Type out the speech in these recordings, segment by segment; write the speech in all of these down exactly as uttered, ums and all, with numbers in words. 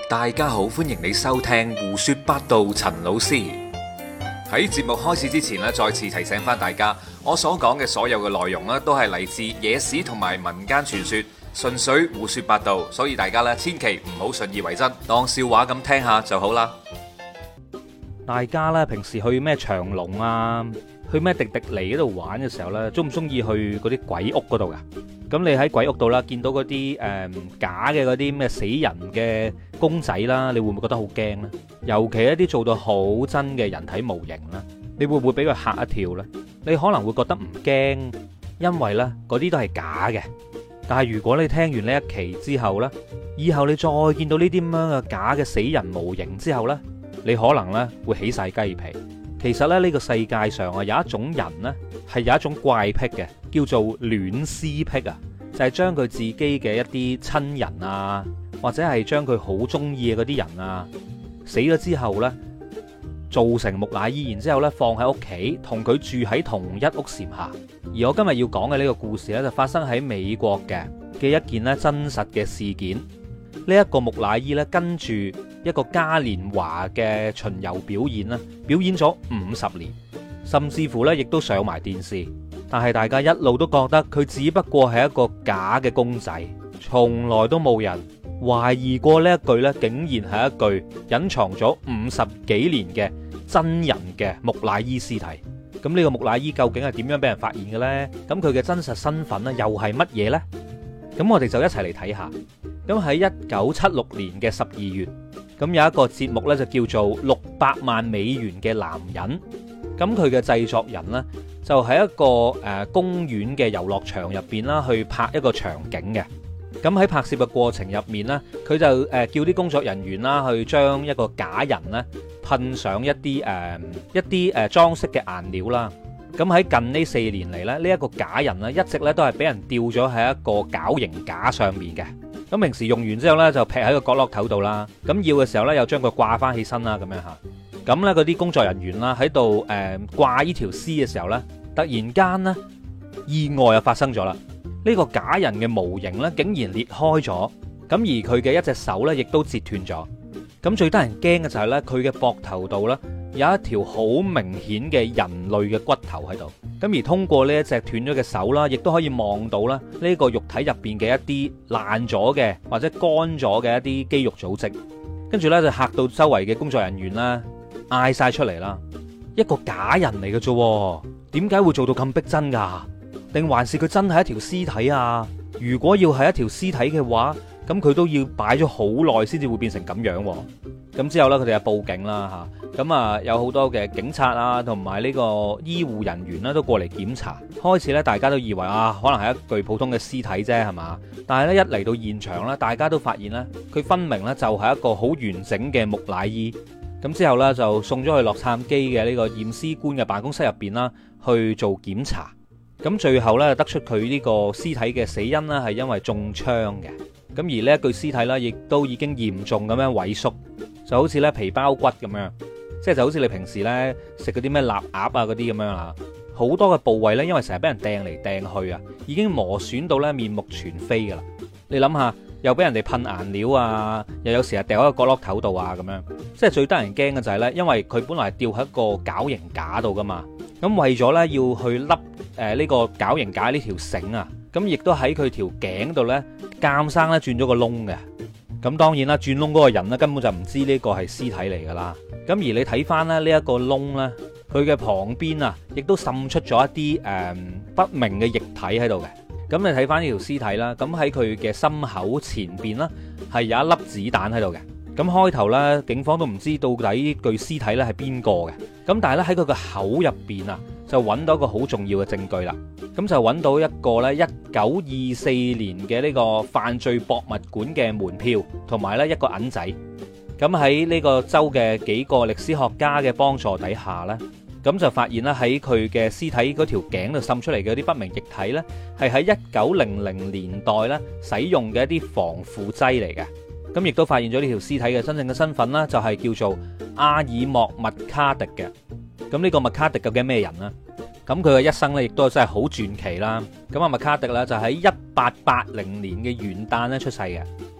大家好，歡迎你收聽胡說八道。陳老師喺節目開始之前咧，再次提醒翻大家，我所講嘅所有嘅內容咧，都係嚟自野史同埋民間傳說，純粹胡說八道，所以大家咧千祈唔好信以為真，當笑話咁聽下就好啦。 大家咧平時去咩長隆啊，去咩迪迪尼嗰度玩嘅時候咧，中唔中意去嗰啲鬼屋嗰度噶？咁你喺鬼屋度啦，見到嗰啲誒假嘅嗰啲咩死人嘅公仔啦，你會唔會覺得好驚呢？尤其一啲做到好真嘅人體模型啦，你會唔會俾佢嚇一跳呢？你可能會覺得唔驚，因為呢嗰啲都係假嘅。但係如果你聽完呢一期之後呢，以後你再見到呢啲咁樣嘅假嘅死人模型之後呢，你可能呢會起晒雞皮。其實咧呢個世界上啊有一種人呢係有一種怪癖嘅，叫做戀屍癖啊，就係將佢自己嘅一啲親人啊，或者係將佢好中意嘅嗰啲人啊死咗之後呢，做成木乃伊，然之後呢放喺屋企，同佢住喺同一屋檐下。而我今日要講嘅呢個故事呢，就發生喺美國嘅嘅一件咧真實嘅事件。呢一個木乃伊呢，跟住一個嘉年華嘅巡遊表演啦，表演咗五十年，甚至乎呢亦都上埋電視。但係大家一路都覺得佢只不過係一個假嘅公仔，從來都冇人懷疑過呢一具呢竟然係一具隱藏咗五十幾年嘅真人嘅木乃伊屍體。咁呢個木乃伊究竟係點樣俾人發現嘅呢？咁佢嘅真實身份呢又係乜嘢呢？咁我哋就一齊嚟睇下。咁喺一九七六年嘅十二月，咁有一個節目呢，就叫做六百萬美元嘅男人。咁佢嘅製作人呢，就喺一個誒公園嘅遊樂場入邊啦，去拍一個場景嘅。咁喺拍攝嘅過程入面呢，佢就誒叫啲工作人員啦，去將一個假人呢噴上一啲誒一啲誒裝飾嘅顏料啦。咁喺近呢四年嚟咧，呢一個假人呢，一直咧都係俾人吊咗喺一個絞刑架上面嘅。咁平時用完之後呢，就劈喺個角落頭度啦。咁要嘅時候呢，又將佢掛翻起身啦，咁樣吓。咁呢嗰啲工作人員啦喺度誒掛呢條屍嘅時候呢，突然間呢，意外又發生咗啦。呢個假人嘅模型呢，竟然裂開咗，咁而佢嘅一隻手呢，亦都折斷咗。咁最得人驚嘅就係呢，佢嘅膊頭度呢，有一條好明顯嘅人類嘅骨頭喺度。咁而通過呢一隻斷咗嘅手啦，亦都可以望到啦呢個肉體入邊嘅一啲爛咗嘅或者乾咗嘅一啲肌肉組織。跟住呢，就嚇到周圍嘅工作人員啦，嗌晒出嚟啦！一個假人嚟嘅啫，點解會做到咁逼真噶？定還是佢真係一條屍體啊？如果要係一條屍體嘅話，咁佢都要擺咗好耐先至會變成咁樣。咁之後呢，佢哋就報警啦吓，咁啊有好多嘅警察啊，同埋呢個醫護人員呢，都過嚟檢查。開始呢，大家都以為啊，可能係一具普通嘅屍體啫，係嘛？但係呢，一嚟到現場呢，大家都發現呢，佢分明呢，就係一個好完整嘅木乃伊。咁之後呢，就送咗去洛杉磯嘅呢個驗屍官嘅辦公室入邊啦，去做檢查。咁最後呢，得出佢呢個屍體嘅死因呢，係因為中槍嘅。咁而呢一具屍體呢，亦都已經嚴重咁樣萎縮，就好似呢皮包骨咁樣，即係就好似你平時呢食嗰啲咩臘鴨啊嗰啲咁樣啦。好多嘅部位呢，因為成日俾人掟嚟掟去啊，已經磨損到呢面目全非噶啦。你諗下，又俾人哋噴顏料啊，又有時係掉喺個角落頭度啊，咁樣，即係最得人驚嘅就係呢，因為佢本來係吊喺一個絞刑架度噶嘛，咁為咗呢，要去笠誒呢個絞刑架呢條繩啊，咁亦都喺佢條頸度呢，監生咧轉咗個窿嘅。咁當然啦，轉窿嗰個人呢，根本就唔知呢個係屍體嚟噶啦。咁而你睇翻咧呢一個窿呢，佢嘅旁邊啊，亦都滲出咗一啲誒、呃、不明嘅液體喺度嘅。咁你睇翻呢條屍體啦，咁喺佢嘅心口前邊啦，係有一粒子彈喺度嘅。咁開頭呢，警方都唔知到底呢具屍體咧係邊個嘅。咁但係咧喺佢個口入邊啊，就揾到一個好重要嘅證據啦。咁就揾到一個咧一九二四年嘅呢個犯罪博物館嘅門票，同埋咧一個銀仔。咁喺呢個州嘅幾個歷史學家嘅幫助底下呢，咁就發現咧喺佢嘅屍體嗰條頸度滲出嚟嘅啲不明液體呢，係喺一九零零年代咧使用嘅一啲防腐劑嚟嘅。咁亦都發現咗呢條屍體嘅真正嘅身份啦，就係叫做阿爾莫麥卡迪嘅。咁呢個麥卡迪究竟係咩人呢？咁佢嘅一生咧，亦都真係好傳奇啦。咁阿麥卡迪咧就喺一八八零年嘅元旦咧出世嘅。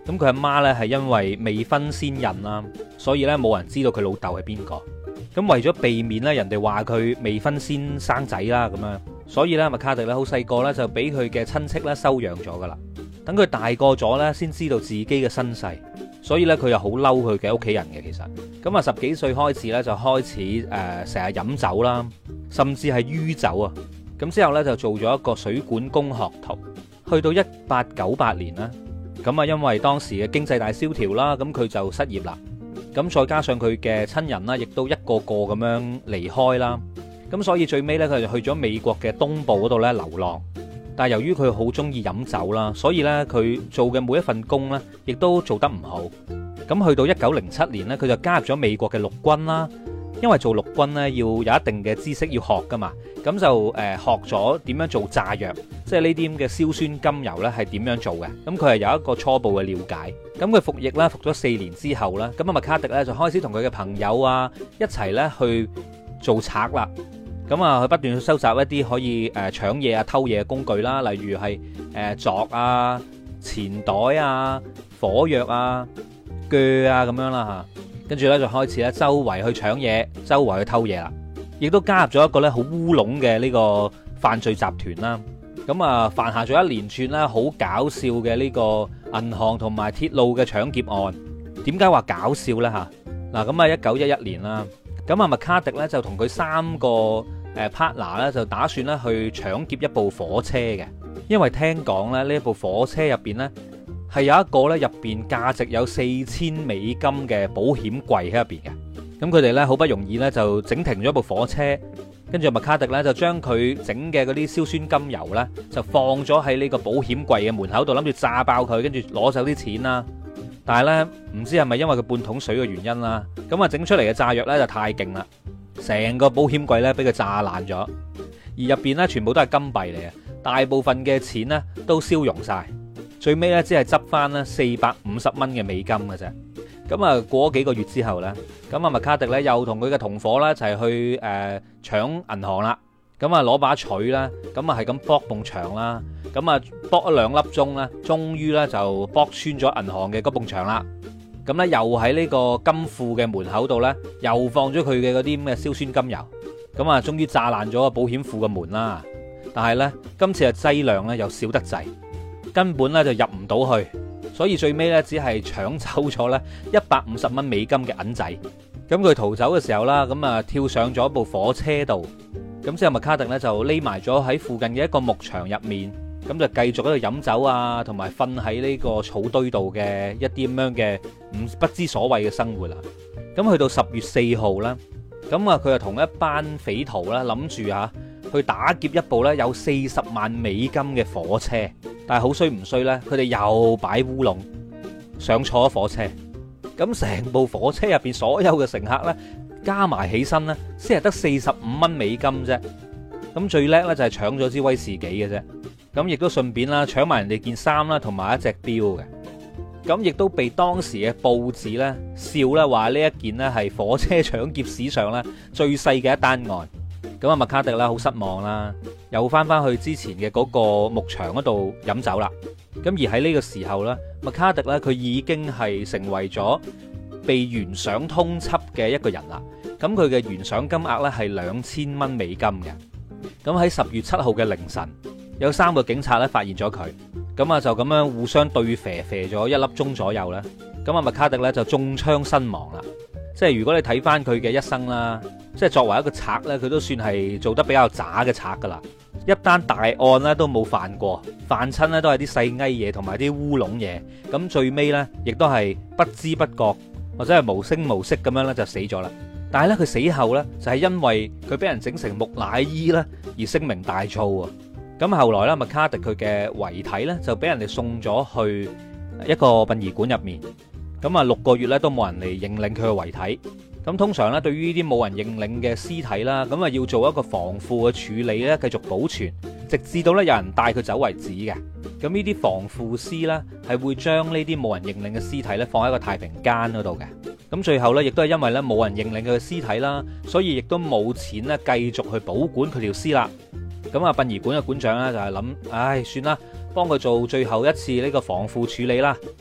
咁佢阿媽呢係因為未婚先孕啦，所以呢冇人知道佢老豆係邊個。咁為咗避免咧人哋話佢未婚先生仔啦咁樣，所以咧麥卡迪咧好細個咧就俾佢嘅親戚咧收養咗噶啦。等佢大個咗咧，先知道自己嘅身世，所以咧佢又好嬲佢嘅屋企人嘅。其實咁啊，十幾歲開始咧就開始誒成日飲酒啦，甚至係酗酒啊。咁之後咧就做咗一個水管工學徒。去到一八九八年啦，咁啊因為當時嘅經濟大蕭條啦，咁佢就失業啦。咁再加上佢嘅親人啦，亦都一個個咁樣離開啦。咁所以最尾呢，佢就去咗美國嘅東部嗰度咧流浪。但係由於佢好中意飲酒啦，所以呢，佢做嘅每一份工呢，亦都做得唔好。咁去到一九零七年呢，佢就加入咗美國嘅陸軍啦。因為做陸軍呢，要有一定嘅知識要學噶嘛，咁就誒學咗點樣做炸藥，即係呢啲咁嘅硝酸甘油呢係點樣做嘅。咁佢係有一個初步嘅了解。咁佢服役啦，服咗四年之後啦，咁啊麥卡迪呢就開始同佢嘅朋友啊一齊呢去做賊啦。咁啊佢不斷去收集一啲可以誒搶嘢啊偷嘢嘅工具啦，例如係誒鑿啊、錢袋啊、火藥啊、鋸啊咁樣啦嚇。跟住咧就開始咧周圍去搶嘢，周圍去偷嘢啦，亦都加入咗一個咧好烏龍嘅呢個犯罪集團啦。咁啊犯下咗一連串咧好搞笑嘅呢個銀行同埋鐵路嘅搶劫案。點解話搞笑呢？吓？嗱咁啊一九一一年啦，咁啊麥卡迪咧就同佢三個誒 partner 咧就打算咧去搶劫一部火車嘅，因為聽講咧呢一部火車入邊咧。係有一個咧入邊價值有四千美金嘅保險櫃喺入邊嘅，咁佢哋咧好不容易咧就整停咗部火車，跟住麥卡迪咧就將佢整嘅嗰啲硝酸甘油咧就放咗喺呢個保險櫃嘅門口度，諗住炸爆佢，跟住攞走啲錢啦。但係咧唔知係咪因為佢半桶水嘅原因啦，咁啊整出嚟嘅炸藥咧就太勁啦，成個保險櫃咧俾佢炸爛咗，而入邊咧全部都係金幣嚟嘅，大部分嘅錢咧都燒融晒。最尾咧，只係執翻咧四百五十蚊嘅美金嘅啫。咁啊，過咗幾個月之後咧，咁啊麥卡迪咧又同佢嘅同伙咧一齊去誒搶銀行啦。咁啊攞把錘啦，咁啊係咁剝埲牆啦。咁啊剝咗兩粒鐘咧，終於咧就剝穿咗銀行嘅嗰埲牆啦。咁咧又喺呢個金庫嘅門口度咧，又放咗佢嘅嗰啲咁嘅硝酸甘油。咁啊，終於炸爛咗個保險庫嘅門啦。但係咧，今次嘅劑量咧又少得滯。根本咧就入唔到去，所以最尾咧只係搶走咗咧一百五十蚊美金嘅銀仔。咁佢逃走嘅時候啦，咁啊跳上咗部火車度，咁之後麥卡迪咧就匿埋咗喺附近嘅一個牧場入面，咁就繼續喺度飲酒啊，同埋瞓喺呢個草堆度嘅一啲咁樣嘅唔不知所謂嘅生活啦。咁去到十月四號啦，咁啊佢就同一班匪徒啦諗住嚇去打劫一部咧有四十萬美金嘅火車。但係好衰唔衰呢？佢哋又擺烏龍，上錯咗火車。咁成部火車入邊所有嘅乘客呢，加埋起身呢，先係得四十五蚊美金啫。咁最叻呢，就係搶咗支威士忌嘅啫。咁亦都順便啦，搶埋人哋件衫啦，同埋一隻錶嘅。咁亦都被當時嘅報紙呢笑啦，話呢一件呢係火車搶劫史上呢最細嘅一單案。咁啊麥卡迪啦好失望啦，又翻翻去之前嘅嗰個牧場嗰度飲酒啦。咁而喺呢個時候呢，麥卡迪咧佢已經係成為咗被懸賞通緝嘅一個人啦。咁佢嘅懸賞金額咧係兩千蚊美金嘅。咁喺十月七號嘅凌晨，有三個警察咧發現咗佢，咁啊就咁樣互相對射射咗一粒鐘左右咧。咁啊麥卡迪咧就中槍身亡啦。即係如果你睇翻佢嘅一生啦，即係作為一個賊呢，佢都算係做得比較渣嘅賊噶啦。一單大案呢都冇犯過，犯親呢都係啲細埃嘢同埋啲烏龍嘢。咁最尾呢，亦都係不知不覺或者係無聲無息咁樣呢就死咗啦。但係呢，佢死後呢，就係因為佢俾人整成木乃伊啦而聲名大噪啊。咁後來呢，麥卡迪佢嘅遺體呢，就俾人哋送咗去一個殯儀館入面。咁啊，六個月咧都冇人嚟認領佢嘅遺體。咁通常咧，對於呢啲冇人認領嘅屍體啦，咁啊要做一個防腐嘅處理咧，繼續保存，直至到咧有人帶佢走為止嘅。咁呢啲防腐屍咧，係會將呢啲冇人認領嘅屍體咧放喺個太平間嗰度嘅。咁最後咧，亦都係因為咧冇人認領佢嘅屍體啦，所以亦都冇錢咧繼續去保管佢條屍啦。咁啊，殯儀館嘅館長咧就係諗，唉，算啦，幫佢做最後一次呢個防腐處理啦。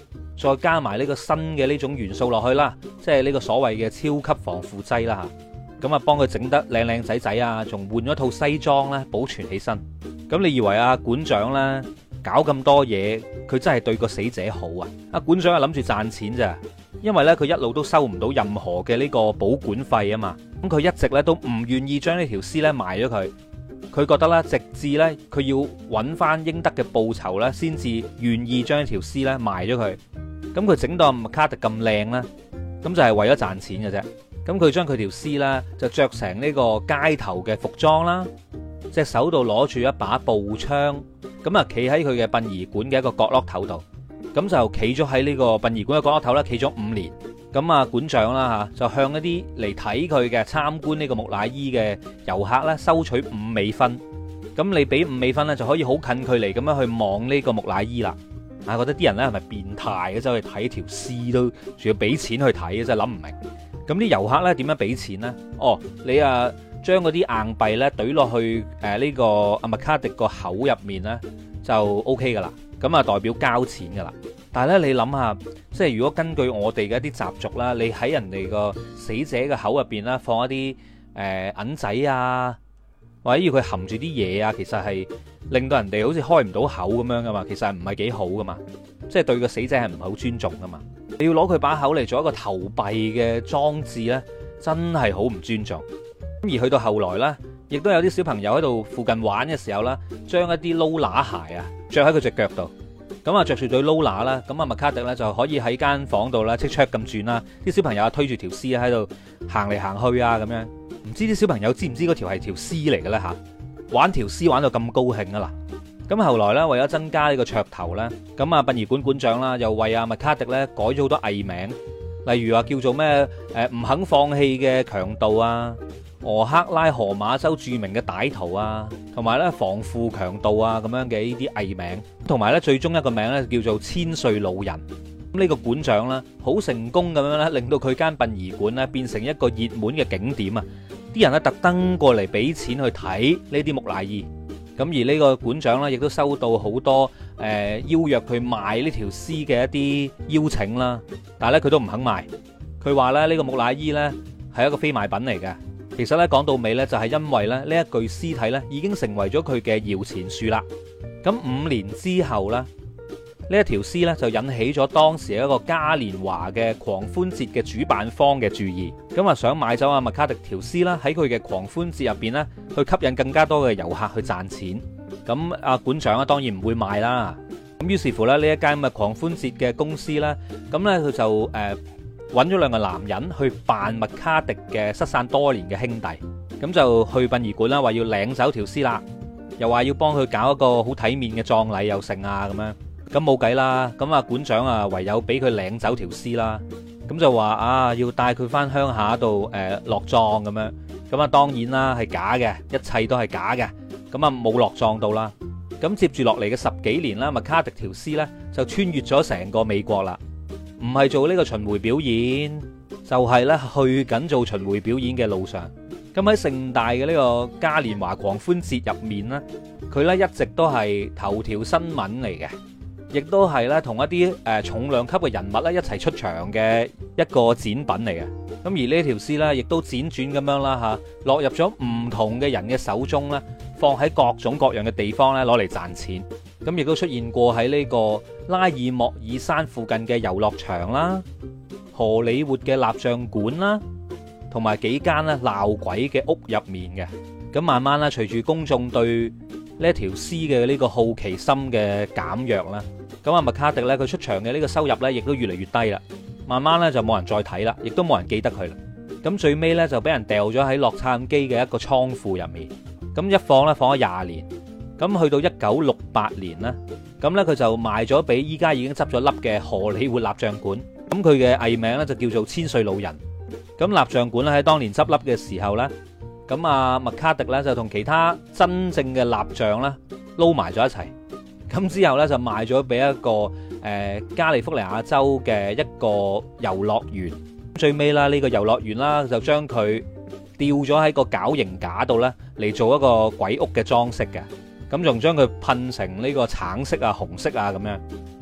再加埋呢個新嘅呢種元素落去啦，即係呢個所謂嘅超級防腐劑啦嚇。咁啊，幫佢整得靚靚仔仔啊，仲換咗套西裝咧，保存起身。咁你以為啊館長咧搞咁多嘢，佢真係對個死者好啊？阿館長係諗住賺錢咋，因為咧佢一路都收唔到任何嘅呢個保管費啊嘛。咁佢一直咧都唔願意將呢條屍咧賣咗佢。佢覺得咧，直至咧佢要揾翻應得嘅報酬咧，先至願意將條屍咧賣咗佢。咁佢整到麥卡迪咁靚咧，咁就係為咗賺錢嘅啫。咁佢將佢條屍咧就着成呢個街頭嘅服裝啦，隻手度攞住一把步槍，咁啊企喺佢嘅殯儀館嘅一個角落頭度，咁就企咗喺呢個殯儀館嘅角落頭咧，企咗五年。咁啊館長啦嚇，就向一啲嚟睇佢嘅參觀呢個木乃伊嘅遊客咧收取五美分。咁你俾五美分咧，就可以好近距離咁樣去望呢個木乃伊啦。啊，覺得啲人咧係咪變態嘅，走去睇條屍都仲要俾錢去睇，真係諗唔明。咁啲遊客咧點樣俾錢呢？哦，你啊將嗰啲硬幣咧懟落去誒呢個阿麥卡迪個口入面咧就 O K 噶啦，咁啊代表交錢噶啦。但係咧你諗下，即係如果根據我哋嘅一啲習俗啦，你喺人哋個死者嘅口入邊啦放一啲誒銀仔啊，或者要佢含住啲嘢啊，其實係令到人哋好似開唔到口咁樣噶嘛，其實係唔係幾好噶嘛，即係對個死者係唔係好尊重噶嘛。你要攞佢把口嚟做一個投幣嘅裝置呢，真係好唔尊重。而去到後來呢，亦都有啲小朋友喺度附近玩嘅時候呢，將一啲撈乸鞋啊着喺佢隻腳度，咁啊着住對撈乸啦，咁啊麥卡迪呢就可以喺間房度啦，戚戚咁轉啦，啲小朋友啊推住條屍喺度行嚟行去啊咁樣，唔知啲小朋友知唔知嗰條係條屍嚟嘅咧嚇？玩條屍玩到咁高興啊嗱！咁後來咧，為咗增加呢個噱頭咧，咁啊殯儀館館長啦，又為阿麥卡迪咧改咗好多藝名，例如話叫做咩誒唔肯放棄嘅強盜啊，俄克拉荷馬州著名嘅歹徒啊，同埋咧防腐強盜啊咁樣嘅呢啲藝名，同埋咧最終一個名咧叫做千歲老人。咁呢個館長咧好成功咁樣咧，令到佢間殯儀館咧變成一個熱門嘅景點啊！啲人咧特登過嚟俾錢去睇呢啲木乃伊。咁而呢個館長咧，亦都收到好多誒、呃、邀約佢賣呢條屍嘅一啲邀請啦，但係咧佢都唔肯賣。佢話咧呢個木乃伊呢係一個非賣品嚟嘅。其實咧講到尾呢，就係因為咧呢一具屍體呢已經成為咗佢嘅搖錢樹啦。咁五年之後呢，呢一條屍呢就引起咗當時一個嘉年華嘅狂歡節嘅主辦方嘅注意，咁啊想買走阿麥卡迪條屍啦，喺佢嘅狂歡節入邊呢，去吸引更加多嘅遊客去賺錢。咁阿館長啊當然唔會賣啦。咁於是乎咧呢一間咁嘅狂歡節嘅公司呢，咁呢，佢就誒揾咗兩個男人去扮麥卡迪嘅失散多年嘅兄弟，咁就去殯儀館啦，話要領走條屍啦，又話要幫佢搞一個好體面嘅葬禮又成啊咁樣。咁冇計啦，咁啊館長啊唯有俾佢領走條屍啦，咁就話啊要帶佢翻鄉下度誒落葬咁樣，咁啊當然啦係假嘅，一切都係假嘅，咁啊冇落葬到啦。咁接住落嚟嘅十幾年啦，麥卡迪條屍呢就穿越咗成個美國啦，唔係做呢個巡迴表演，就係呢去緊做巡迴表演嘅路上。咁喺盛大嘅呢個嘉年華狂歡節入面呢，佢呢一直都係頭條新聞嚟嘅。亦都係咧同一啲誒重量級嘅人物咧一齊出場嘅一個展品嚟嘅。咁而呢條屍咧，亦都輾轉咁樣啦嚇，落入咗唔同嘅人嘅手中咧，放喺各種各樣嘅地方咧攞嚟賺錢。咁亦都出現過喺呢個拉爾莫爾山附近嘅遊樂場啦、荷里活嘅蠟像館啦，同埋幾間咧鬧鬼嘅屋入面嘅。咁慢慢咧，隨住公眾對呢一條屍嘅呢個好奇心嘅減弱啦，咁啊麥卡迪咧佢出場嘅呢個收入咧亦都越嚟越低啦，慢慢咧就冇人再睇啦，亦都冇人記得佢啦。咁最尾咧就俾人掉咗喺洛杉磯嘅一個倉庫入面，咁一放咧放咗廿年，咁去到一九六八年啦，咁咧佢就賣咗俾依家已經執咗笠嘅荷里活蠟像館，咁佢嘅藝名咧就叫做千歲老人。咁蠟像館咧喺當年執笠嘅時候咧，咁啊麥卡迪咧就同其他真正嘅蠟像咧撈埋咗一齊，咁之後咧就賣咗俾一個誒、呃、加利福尼亞州嘅一個遊樂園。最尾啦，呢個遊樂園啦就將佢吊咗喺個絞刑架度咧嚟做一個鬼屋嘅裝飾嘅，咁仲將佢噴成呢個橙色啊、紅色啊咁樣。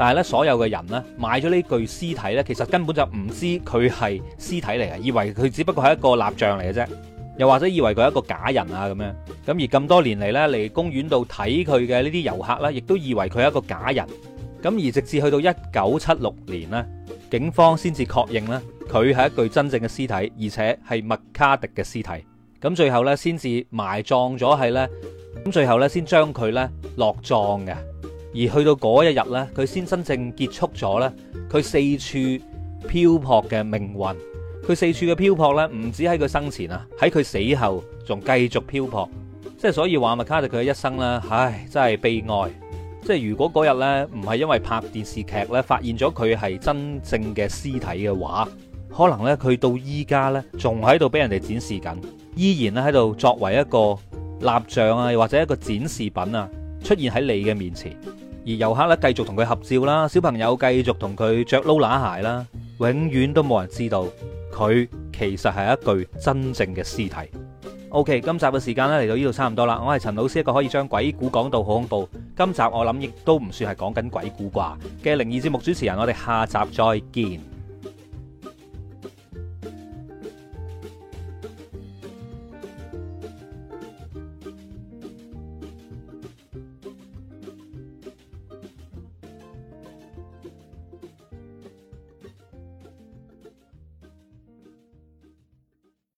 但係咧所有嘅人呢，買咗呢具屍體呢，其實根本就唔知佢係屍體嚟嘅，以為佢只不過係一個蠟像嚟嘅啫，又或者以為佢係一個假人啊咁樣。咁而咁多年嚟呢，嚟公園度睇佢嘅呢啲遊客呢，亦都以為佢係一個假人。咁而直至去到一九七六年呢，警方先至確認呢，佢係一具真正嘅屍體，而且係麥卡迪嘅屍體。咁最後呢，先至埋葬咗係呢，咁最後呢，先將佢呢落葬嘅。而去到嗰一日呢，佢先真正結束咗呢，佢四處漂泊嘅命運。佢四處嘅漂泊呢，唔止喺佢生前啊，喺佢死後仲繼續漂泊。即係所以話麥卡迪佢嘅一生呢，唉，真係悲哀。即係如果嗰日呢，唔係因為拍電視劇呢，發現咗佢係真正嘅屍體嘅話，可能呢，佢到依家呢，仲喺度俾人哋展示緊，依然咧喺度作為一個蠟像啊，或者一個展示品啊，出現喺你嘅面前。而遊客咧繼續同佢合照啦，小朋友繼續同佢着撈乸鞋啦，永遠都冇人知道佢其實係一具真正嘅屍體。OK， 今集嘅時間咧嚟到呢度差唔多啦。我係陳老師，一個可以將鬼故講到好恐怖，今集我諗亦都唔算係講緊鬼故啩嘅靈異節目主持人。我哋下集再見。